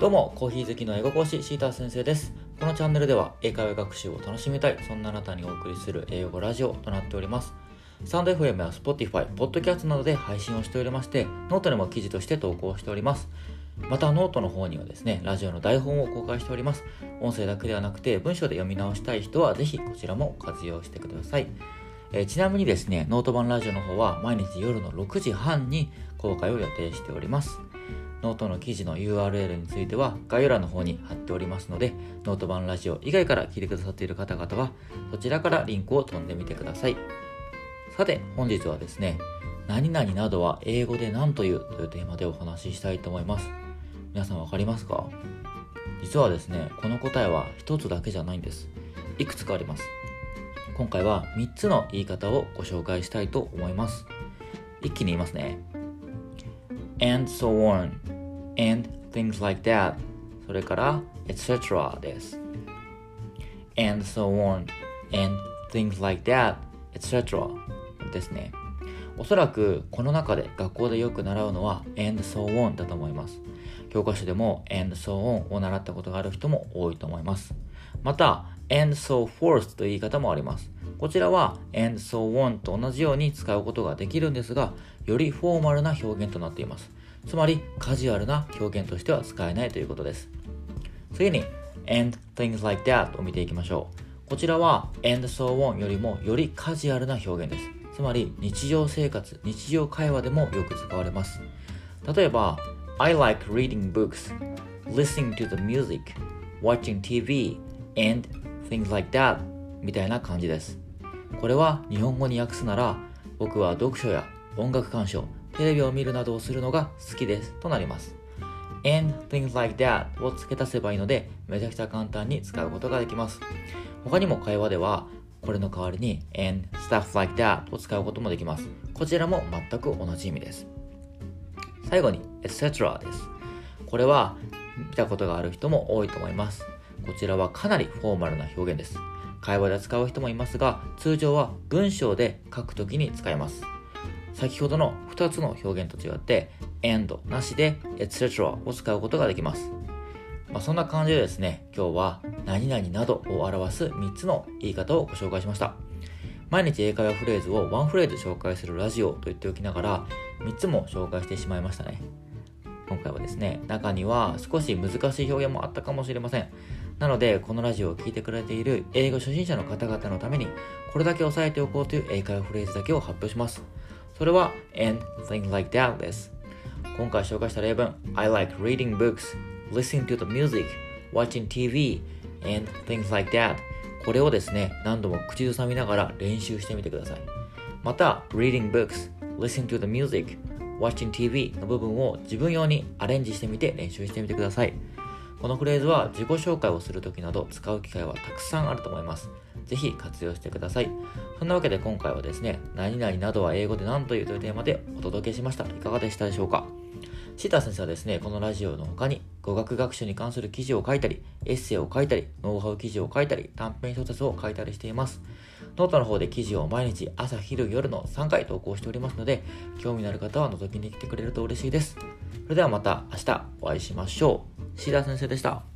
どうも、コーヒー好きの英語講師シーター先生です。このチャンネルでは英会話学習を楽しみたい、そんなあなたにお送りする英語ラジオとなっております。スタンド FM や Spotify、ポッドキャストなどで配信をしておりまして、ノートでも記事として投稿しております。またノートの方にはですね、ラジオの台本を公開しております。音声だけではなくて文章で読み直したい人はぜひこちらも活用してください。ちなみにですね、ノート版ラジオの方は毎日夜の6時半に公開を予定しております。ノートの記事の URL については概要欄の方に貼っておりますので、ノート版ラジオ以外から聞いてくださっている方々はそちらからリンクを飛んでみてください。さて本日はですね、何々などは英語で何というというテーマでお話ししたいと思います。皆さんわかりますか？実はですね、この答えは一つだけじゃないんです。いくつかあります。今回は3つの言い方をご紹介したいと思います。一気に言いますね。and so on, and things like that, それから etc. です。and so on, and things like that, etc. ですね。おそらくこの中で学校でよく習うのは and so on だと思います。教科書でも and so on を習ったことがある人も多いと思います。また and so forth という言い方もあります。こちらは and so on と同じように使うことができるんですが、よりフォーマルな表現となっています。つまりカジュアルな表現としては使えないということです。次に and things like that を見ていきましょう。こちらは and so on よりもよりカジュアルな表現です。つまり日常生活、日常会話でもよく使われます。例えば I like reading books, listening to the music, watching TV, and things like that みたいな感じです。これは日本語に訳すなら、僕は読書や音楽鑑賞、テレビを見るなどをするのが好きですとなります。and things like that を付け足せばいいので、めちゃくちゃ簡単に使うことができます。他にも会話ではこれの代わりに and stuff like that を使うこともできます。こちらも全く同じ意味です。最後に etc. です。これは見たことがある人も多いと思います。こちらはかなりフォーマルな表現です。会話で使う人もいますが、通常は文章で書くときに使います。先ほどの2つの表現と違って and なしで etc. を使うことができます。そんな感じでですね、今日は何々などを表す3つの言い方をご紹介しました。毎日英会話フレーズをワンフレーズ紹介するラジオと言っておきながら3つも紹介してしまいましたね。今回はですね、中には少し難しい表現もあったかもしれません。なのでこのラジオを聞いてくれている英語初心者の方々のためにこれだけ押さえておこうという英会話フレーズだけを発表します。それは and things like that です。今回紹介した例文 I like reading books, listening to the music, watching TV, and things like that、 これをですね、何度も口ずさみながら練習してみてください。また reading books, listening to the music, watching TV の部分を自分用にアレンジしてみて練習してみてください。このフレーズは自己紹介をするときなど使う機会はたくさんあると思います。ぜひ活用してください。そんなわけで今回はですね、何々などは英語で何というというテーマでお届けしました。いかがでしたでしょうか？シーター先生はですね、このラジオの他に語学学習に関する記事を書いたり、エッセイを書いたり、ノウハウ記事を書いたり、短編小説を書いたりしています。ノートの方で記事を毎日朝昼夜の3回投稿しておりますので、興味のある方は覗きに来てくれると嬉しいです。それではまた明日お会いしましょう。シーター先生でした。